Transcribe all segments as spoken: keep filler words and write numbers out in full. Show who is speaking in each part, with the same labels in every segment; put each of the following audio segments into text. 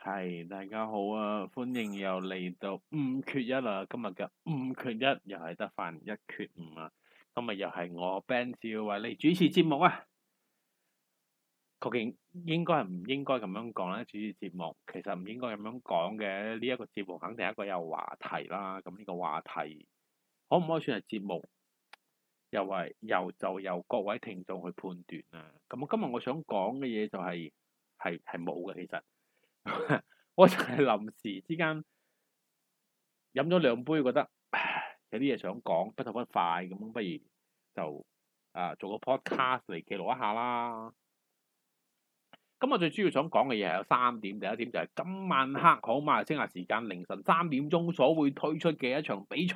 Speaker 1: 係，大家好啊！歡迎又嚟到五缺一啦，今日嘅五缺一又係得翻一缺五啊！今日又係我 Ben 少為你主持節目啊！究竟應該係唔應該咁樣講咧？主持節目其實唔應該咁樣講嘅，呢一個節目肯定係一個有話題啦。咁呢個話題可唔可以算係節目？又係由就由各位聽眾去判斷啊！咁我今日我想講嘅嘢就係係係冇嘅，其實。我就係臨時之間飲咗兩杯，覺得唉有啲嘢想講，不吐不快咁，不如就啊做個 podcast 嚟記錄一下啦。咁我最主要想講嘅嘢係有三點，第一點就係今晚黑好馬來西亞時間凌晨三點鐘所會推出嘅一場比賽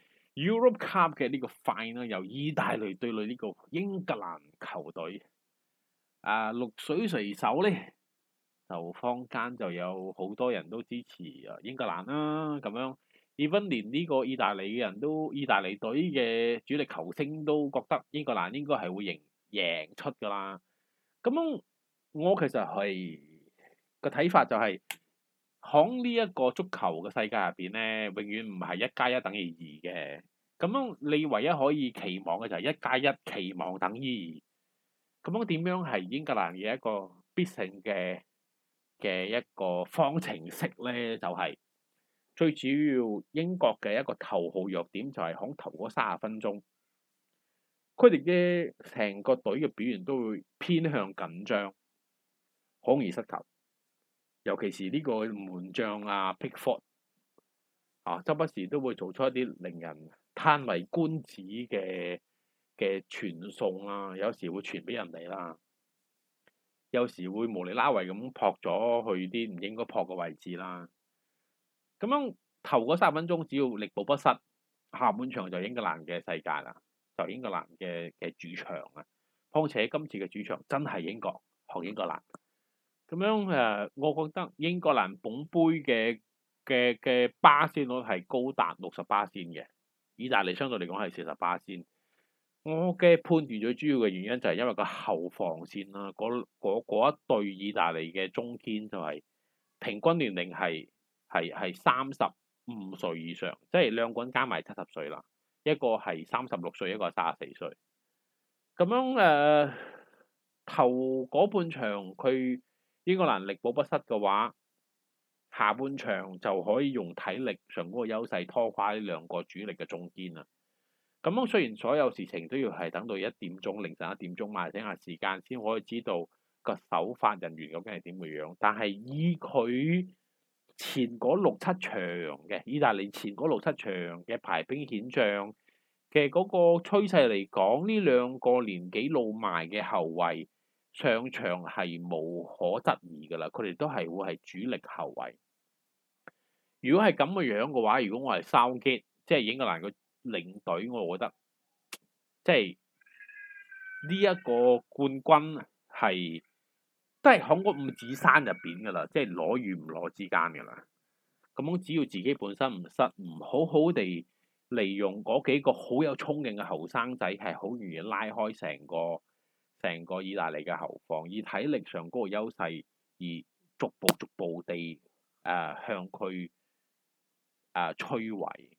Speaker 1: Europe Cup 嘅呢個 final 由意大利對壘呢個英格蘭球隊。啊，綠水隨手咧。就坊間就有好多人都支持啊英格蘭啦，咁樣，even 連呢個意大利嘅人都，意大利隊嘅主力球星都覺得英格蘭應該係會贏贏出㗎啦。咁樣我其實係個睇法就係喺呢一個足球嘅世界入邊咧，永遠唔係一加一等於二嘅。咁樣你唯一可以期望嘅就係一加一期望等於二。咁樣點樣係英格蘭嘅一個必勝嘅嘅一個方程式咧，就係、是、最主要英國嘅一個頭號弱點就係響頭嗰三十分鐘，佢哋嘅成個隊嘅表現都會偏向緊張，好容易失球。尤其是呢個門將啊 Pickford 啊，周不時都會做出一啲令人嘆為觀止嘅嘅傳送啊，有時會傳俾人哋啦。有時會無厘啦圍咁撲咗去啲唔應該撲嘅位置啦。咁樣頭嗰三十分鐘只要力保不失，下半場就英格蘭嘅世界啦，就英格蘭嘅嘅主場啊。況且今次嘅主場真係英國，學英格蘭。咁樣誒，我覺得英格蘭捧杯嘅嘅嘅巴仙率係高達六十巴仙嘅，意大利相對嚟講係四十巴仙。我嘅判斷最主要嘅原因就係因為個後防線啦，嗰嗰一對意大利嘅中堅就係平均年齡係係係三十五歲以上，即係兩個人加埋七十歲啦，一個係三十六歲，一個係三十四歲。咁樣誒、呃，頭嗰半場佢英格蘭力保不失嘅話，下半場就可以用體力上嗰個優勢拖垮呢兩個主力嘅中堅啦。咁樣雖然所有事情都要係等到一點鐘凌晨一點鐘馬來西亞時間先可以知道個首發人員究竟係點嘅樣，但係以佢前嗰六七場嘅意大利前嗰六七場嘅排兵遣將嘅嗰個趨勢嚟講，呢兩個年紀老邁嘅後衞上場係無可質疑㗎啦，佢哋都係會係主力後衞。如果係咁嘅樣嘅話，如果我係Southgate，即係英格蘭個領隊，我覺得即係呢一個冠軍係都係喺個五指山入邊㗎啦，即係攞與唔攞之間㗎啦。咁樣只要自己本身唔失，唔好好地利用嗰幾個好有衝勁嘅後生仔，係好容易拉開成個成個意大利嘅後防，以體力上嗰個優勢而逐步逐步地誒、呃、向佢誒、呃、摧毀。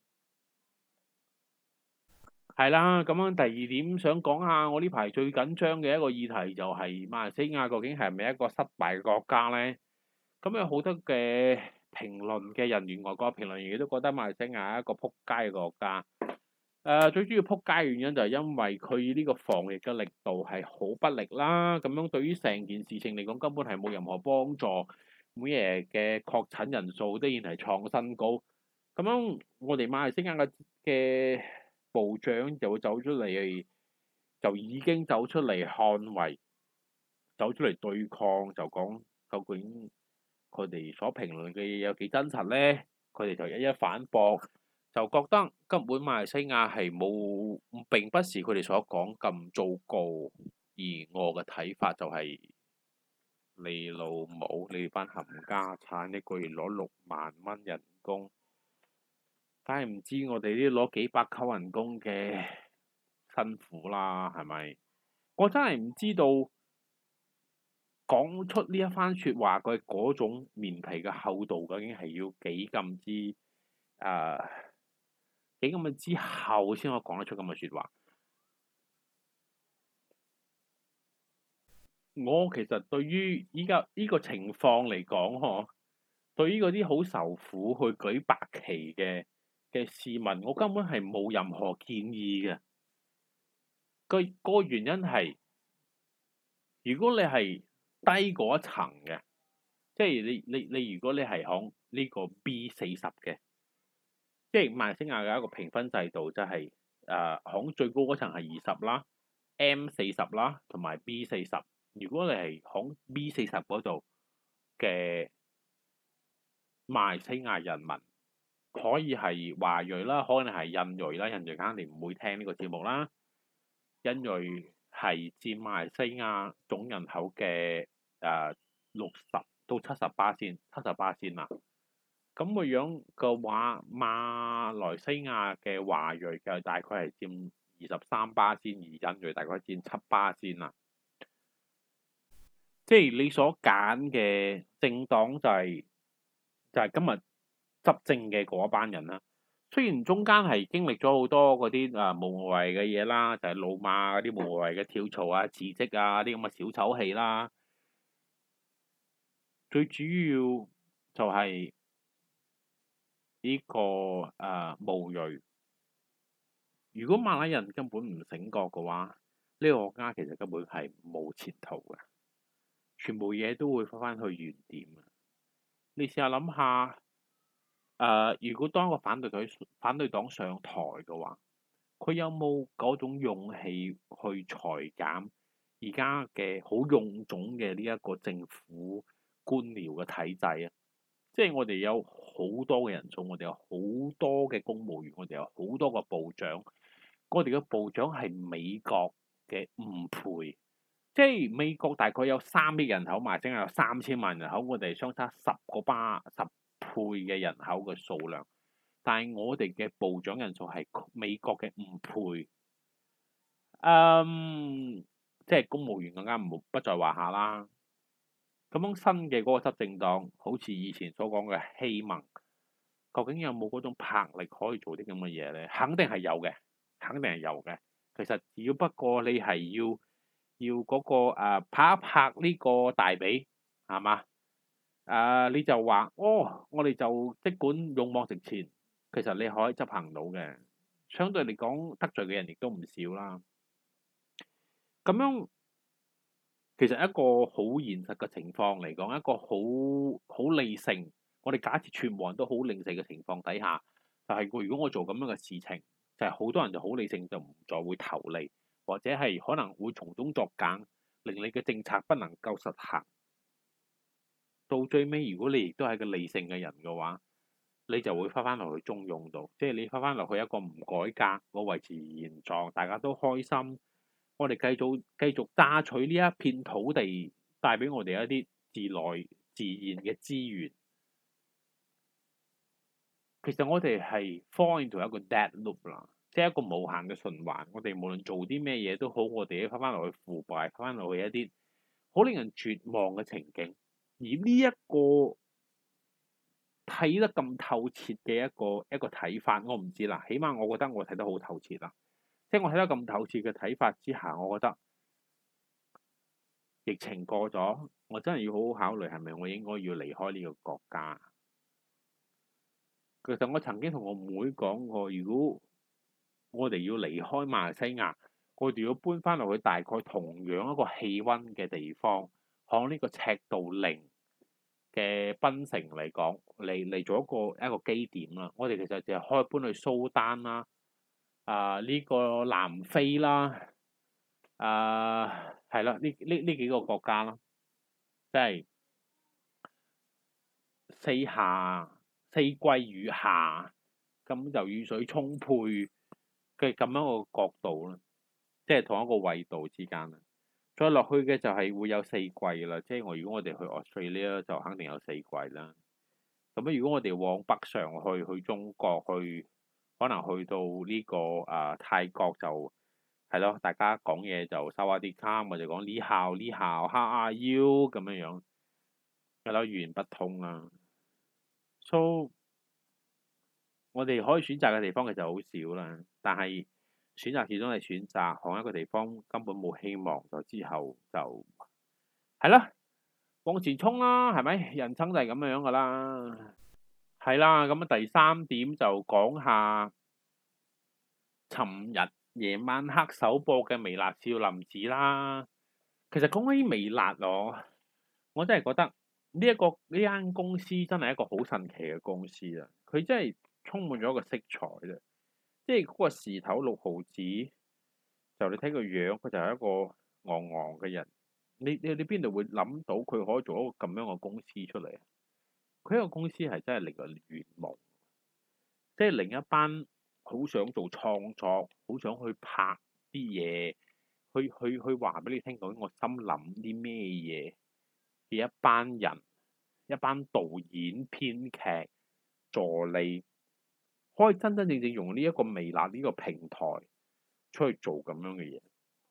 Speaker 1: 係啦，咁樣第二點想講下，我呢排最緊張嘅一個議題就係馬來西亞究竟係咪一個失敗嘅國家咧？咁有好多嘅評論嘅人員，外國評論員都覺得馬來西亞係一個撲街嘅國家。誒、呃，最主要撲街嘅原因就係因為佢呢個防疫嘅力度係好不力啦，咁樣對於成件事情嚟講根本係冇任何幫助。每日嘅確診人數都依然係創新高。咁樣我哋馬來西亞嘅嘅部長就會走出嚟，就已經走出嚟捍衞，走出嚟對抗，就講究竟佢哋所評論嘅嘢有幾真實咧？佢哋就一一反駁，就覺得根本馬來西亞係冇，並不是佢哋所講咁糟糕。而我嘅睇法就係、是、你老母，你班冚家產一個月攞六萬蚊人工。梗係唔知我哋啲攞幾百扣人工嘅辛苦啦，係咪？我真係唔知道講出呢一番説話，佢嗰種面皮嘅厚度究竟係要幾咁之誒、呃、幾咁嘅之後先可以講得出咁嘅説話。我其實對於依家呢個情況嚟講，嗬，對於嗰啲好受苦去舉白旗嘅嘅市民，我根本係冇任何建議嘅。個個原因係，如果你係低嗰一層嘅，即係你你你，如果你係響呢個 B 四十嘅，即係馬來西亞嘅一個評分制度，就係誒響最高嗰層係二十啦，M 四十啦，同埋 B 四十。如果你係響 B 四十嗰度嘅馬來西亞人民，可以係華裔啦，可能係印裔啦，印裔肯定唔會聽呢個節目啦。印裔係佔馬來西亞總人口嘅誒六十到七十巴仙，七十巴仙啦。咁個樣嘅話，馬來西亞嘅華裔嘅大概係佔二十三巴仙，而印裔大概佔七巴仙啦。即係你所揀嘅政黨就係就係今日執政嘅嗰一班人啦。雖然中間係經歷咗好多嗰啲啊無謂嘅嘢啦，就係老馬嗰啲無謂嘅跳槽啊、辭職啊啲咁嘅小丑戲啦。最主要就係呢個誒巫裔。如果馬來人根本唔醒覺嘅話，呢個國家其實根本係冇前途嘅，全部嘢都會翻返去原點。你試下諗下。誒、呃，如果當一個反對隊反對黨上台嘅話，佢有冇嗰種勇氣去裁減而家嘅好臃腫嘅呢一個政府官僚嘅體制啊？即係我哋有好多嘅人數，我哋有好多嘅公務員，我哋有好多個部長，我哋嘅部長係美國嘅五倍，即係美國大概有三億人口，馬來西亞有三千萬人口，我哋相差十個巴十倍嘅人口嘅數量，但係我哋嘅部長人數係美國嘅五倍，嗯，即係公務員更加唔不在話下啦。咁樣新嘅嗰個執政黨，好似以前所講嘅希盟，究竟有冇嗰種魄力可以做啲咁嘅嘢咧？肯定係有嘅，肯定係有嘅。其實只要不過你係要要嗰、那個誒、呃、拍一拍呢個大髀，係嘛？誒、uh, 你就話哦，我哋就即管勇往直前，其實你可以執行到嘅。相對嚟講，得罪嘅人亦都唔少啦。咁樣其實一個好現實嘅情況嚟講，一個好好理性，我哋假設全部人都好理性嘅情況底下，就係、是、如果我做咁樣嘅事情，就係、是、好多人就好理性，就唔再會投你，或者係可能會從中作梗，令你嘅政策不能夠實行。到最尾，如果你亦都係個理性嘅人嘅話，你就會翻翻落去中庸度，即係你翻翻落去一個唔改革，我維持現狀，大家都開心，我哋繼續繼續榨取呢一片土地，帶俾我哋一啲自來自然嘅資源。其實我哋係 fall into 一個 dead loop 啦，即係一個無限嘅循環。我哋無論做啲咩嘢都好，我哋都翻翻落去腐敗，翻翻落去一啲好令人絕望嘅情景。而呢一個睇得咁透徹嘅一個一個睇法，我唔知啦。起碼我覺得我睇得好透徹啦。即係我睇得咁透徹嘅睇法之下，我覺得疫情過咗，我真係要好好考慮係咪我應該要離開呢個國家。其實我曾經同我妹講過，如果我哋要離開馬來西亞，我哋要搬翻落去大概同樣一個氣温嘅地方，響呢個赤道零嘅檳城嚟講，嚟嚟做一個一個基點啦。我哋其實就係可以搬去蘇丹啦，啊、呃、呢、這個南非啦，啊係啦，呢呢呢幾個國家啦，即係四夏四季如夏，咁就雨水充沛嘅咁樣個角度啦，即係同一個緯度之間啦。再落去嘅就係會有四季啦，即係我如果我哋去 Australia 就肯定有四季啦。咁如果我哋往北上去，去中國去，可能去到呢、這個啊、呃、泰國就係咯，大家講嘢就收下啲卡，我就講呢校呢校，how are you 咁樣樣，係咯，語言不通啊。So 我哋可以選擇嘅地方其實好少啦，但係選擇始終係選擇，同一個地方根本冇希望，就之後就係啦，往前衝啦，係咪？人生就係咁樣噶啦。係啦，咁啊第三點就講下尋日夜晚黑首播嘅微辣少林寺啦。其實講起微辣我，我真係覺得呢一個呢間公司真係一個好神奇嘅公司啊！佢真係充滿咗一個色彩啦，即係嗰個時頭六毫子，就你睇個樣，佢就係一個昂昂嘅人。你你你邊度會諗到佢可以做一個咁樣嘅公司出嚟啊？佢一個公司係真係令人圓夢，即係另一班好想做創作、好想去拍啲嘢、去去去話俾你聽究竟我心諗啲咩嘢嘅一班人、一班導演、編劇、助理，可以真真正正用呢一個微辣呢個平台出去做咁樣嘅嘢，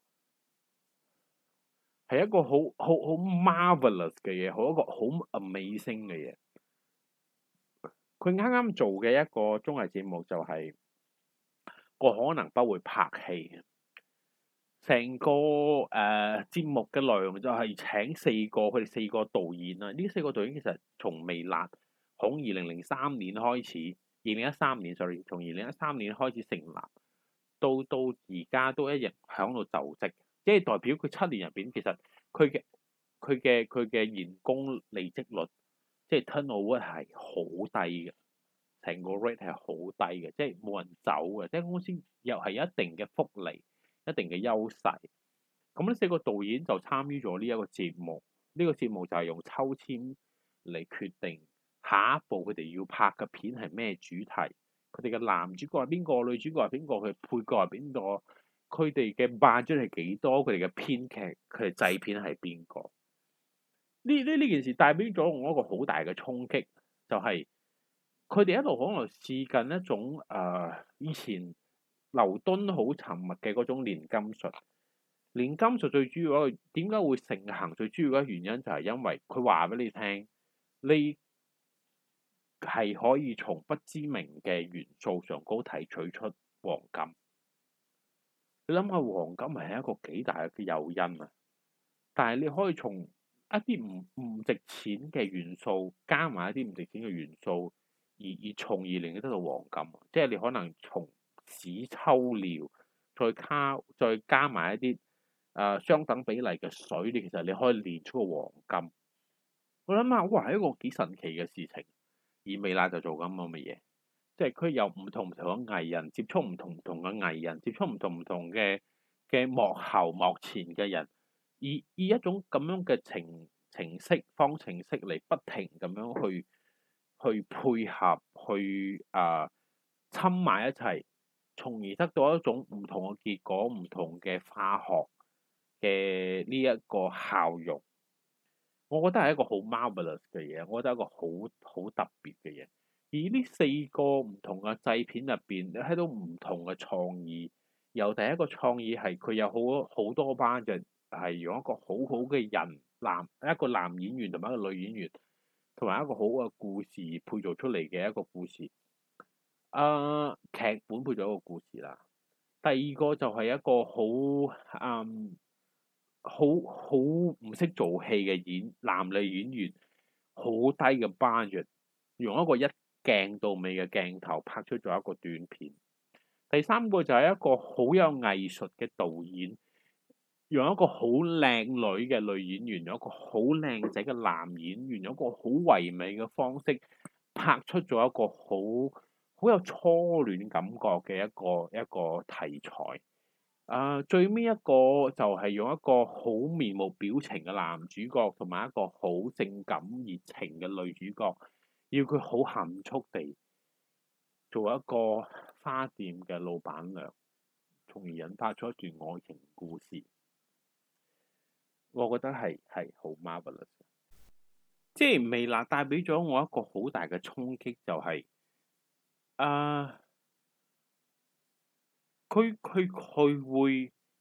Speaker 1: 係一個好好好 marvelous 嘅嘢，好一個好 amazing 嘅嘢。佢啱啱做嘅一個綜藝節目就係、是、我可能不會拍戲，成個誒、呃、節目嘅內容就係請四個佢哋四個導演啊，呢四個導演其實從微辣從二零零三年開始，二零一三年 sorry，從二零一三年開始成立，到到而家都一日響度就職，即係代表佢七年入邊其實佢嘅佢嘅佢嘅員工離職率。即係 turnover 係好低嘅，成個 rate 係好低嘅，即係冇人走嘅，即係公司又係有一定嘅福利、一定嘅優勢。咁呢四個導演就參與咗呢一個節目，呢、這個節目就係用抽籤嚟決定下一步佢哋要拍嘅片係咩主題，佢哋嘅男主角係邊個，女主角係邊個，佢配角係邊個，佢哋嘅 budget 係幾多，佢哋嘅編劇佢哋製片係邊個。呢呢呢件事帶俾咗我一個好大嘅衝擊，就係佢哋一路可能試緊一種誒、呃、以前劉敦好沉默嘅嗰種連金術。連金術最主要一個點解會盛行？最主要嘅原因就係因為佢話俾你聽，你係可以從不知名嘅元素上高提取出黃金。你諗下黃金係一個幾大嘅誘因啊！但係你可以從一啲唔唔值錢嘅元素加埋一啲唔值錢嘅元素，而而從而令你得到黃金。即係你可能從屎抽尿，再加再加埋一啲誒、呃、相等比例嘅水，你其實你可以煉出個黃金。我諗下，哇係一個幾神奇嘅事情。而微辣就做緊咁嘅嘢，即係佢有唔同唔同嘅藝人接觸唔同唔同嘅藝人，接觸唔同唔同嘅嘅幕後幕前嘅人。以以一種咁樣嘅程程式方程式嚟不停咁樣去去配合去啊侵埋一齊，從而得到一種唔同嘅結果、唔同嘅化學嘅呢一個效用。我覺得係一個好 marvelous 嘅嘢，我覺得係一個好好特別嘅嘢。而呢四個唔同嘅製片入邊，你睇到唔同嘅創意。由第一個創意係佢有好好多班嘅。係用一個好好嘅人男一個男演員同埋一個女演員，同埋一個好嘅故事配做出嚟嘅一個故事。啊、呃，劇本配咗一個故事啦。第二個就係一個好嗯好好唔識做戲嘅演男女演員，好低嘅 budget，用一個一鏡到尾嘅鏡頭拍出咗一個短片。第三個就係一個好有藝術嘅導演。用一個好靚女嘅女演員，用一個好靚仔嘅男演員，用一個好唯美嘅方式拍出咗一個好好有初戀感覺嘅一個一個題材。啊、呃，最尾一個就係用一個好面無表情嘅男主角，同埋一個好性感熱情嘅女主角，要佢好含蓄地做一個花店嘅老闆娘，從而引發出一段愛情故事。我覺得係係好 marvelous，即係微辣帶俾咗我一個好大嘅衝擊，就係啊，佢佢佢會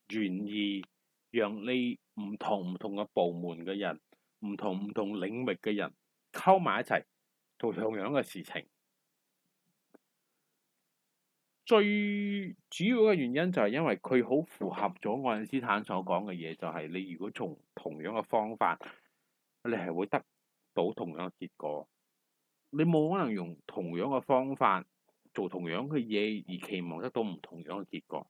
Speaker 1: 願意讓你唔同唔同嘅部門嘅人、唔同唔同領域嘅人溝埋一齊做同樣嘅事情。最主要嘅原因就係因為佢好符合咗愛因斯坦所講嘅嘢，就係你如果從同樣嘅方法，你係會得到同樣嘅結果。你冇可能用同樣嘅方法做同樣嘅嘢而期望得到唔同樣嘅結果。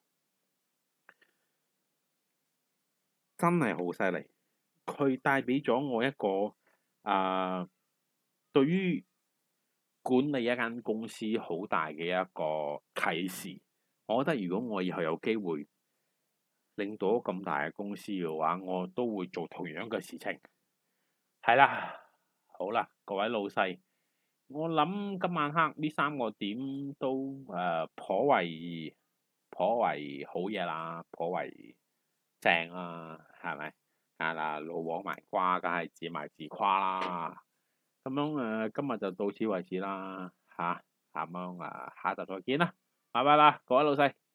Speaker 1: 真係好犀利，佢帶俾咗我一個啊、呃，對於管理一間公司好大嘅一個啟示。我覺得如果我以後有機會領導咁大嘅公司嘅話，我都會做同樣嘅事情。係啦，好啦，各位老細，我諗今晚黑呢三個點都誒、呃、頗為頗為好嘢啦，頗為正啊，係咪？啊嗱，老王賣瓜，梗係自賣自誇啦。咁樣誒、呃，今日就到此為止啦，嚇、啊，咁樣啊，下集再見啦，拜拜啦，各位老細。